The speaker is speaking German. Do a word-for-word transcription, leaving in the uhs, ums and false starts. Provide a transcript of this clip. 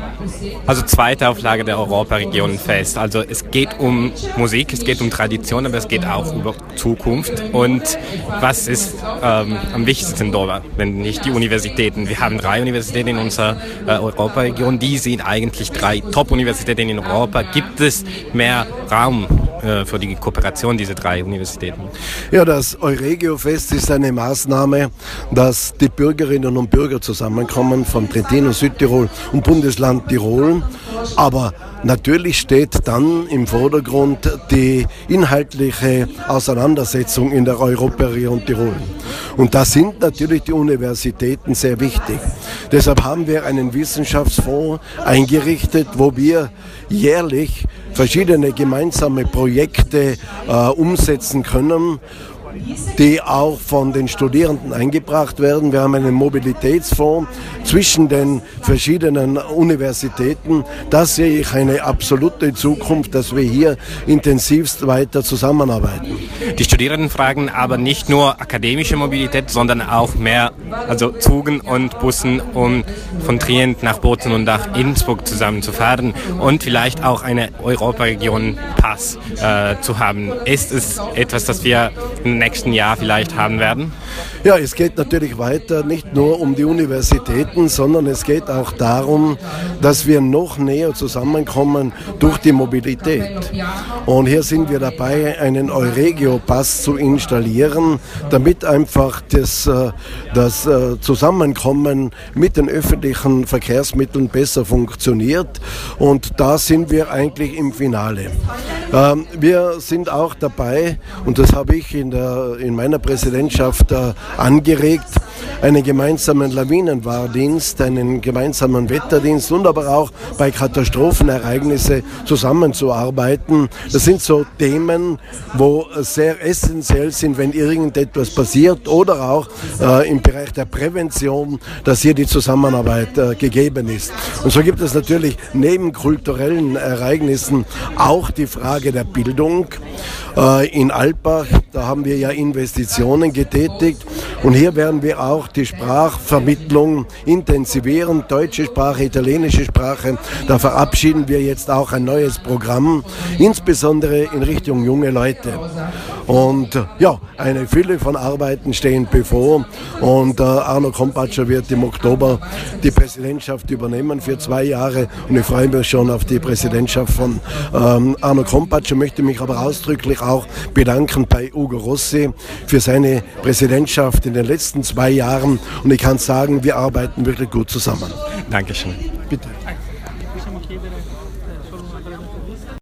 Also zweite Auflage der Europaregionenfest. Also es geht um Musik, es geht um Tradition, aber es geht auch über Zukunft. Und was ist ähm, am wichtigsten dort, wenn nicht die Universitäten? Wir haben drei Universitäten in unserer äh, Europaregion. Die sind eigentlich drei Top-Universitäten in Europa. Gibt es mehr Raum äh, für die Kooperation dieser drei Universitäten? Ja, das Euregio-Fest ist eine Maßnahme, dass die Bürgerinnen und Bürger zusammenkommen von Trentino, Südtirol und Bundesland Tirol. Aber natürlich steht dann im Vordergrund die inhaltliche Auseinandersetzung in der Europaregion Tirol. Und da sind natürlich die Universitäten sehr wichtig. Deshalb haben wir einen Wissenschaftsfonds eingerichtet, wo wir jährlich verschiedene gemeinsame Projekte äh, umsetzen können, die auch von den Studierenden eingebracht werden. Wir haben einen Mobilitätsfonds zwischen den verschiedenen Universitäten. Das sehe ich eine absolute Zukunft, dass wir hier intensivst weiter zusammenarbeiten. Die Studierenden fragen aber nicht nur akademische Mobilität, sondern auch mehr, also Zügen und Bussen, um von Trient nach Bozen und nach Innsbruck zusammenzufahren und vielleicht auch eine Europaregion-Pass äh, zu haben. Ist es etwas, das wir im nächsten Jahr vielleicht haben werden? Ja, es geht natürlich weiter, nicht nur um die Universitäten, sondern es geht auch darum, dass wir noch näher zusammenkommen durch die Mobilität. Und hier sind wir dabei, einen Euregio-Pass zu installieren, damit einfach das, das Zusammenkommen mit den öffentlichen Verkehrsmitteln besser funktioniert. Und da sind wir eigentlich im Finale. Wir sind auch dabei, und das habe ich in, der, in meiner Präsidentschaft angeregt, einen gemeinsamen Lawinenwarndienst, einen gemeinsamen Wetterdienst und aber auch bei Katastrophenereignissen zusammenzuarbeiten. Das sind so Themen, wo sehr essentiell sind, wenn irgendetwas passiert oder auch äh, im Bereich der Prävention, dass hier die Zusammenarbeit äh, gegeben ist. Und so gibt es natürlich neben kulturellen Ereignissen auch die Frage der Bildung. Äh, in Alpbach, da haben wir ja Investitionen getätigt und hier werden wir auch die Sprachvermittlung intensivieren, deutsche Sprache, italienische Sprache. Da verabschieden wir jetzt auch ein neues Programm, insbesondere in Richtung junge Leute. Und ja, eine Fülle von Arbeiten stehen bevor und äh, Arno Kompatscher wird im Oktober die Präsidentschaft übernehmen für zwei Jahre und ich freue mich schon auf die Präsidentschaft von ähm, Arno Kompatscher, möchte mich aber ausdrücklich auch bedanken bei Ugo Rossi für seine Präsidentschaft in den letzten zwei Jahren und ich kann sagen, wir arbeiten wirklich gut zusammen. Dankeschön. Bitte.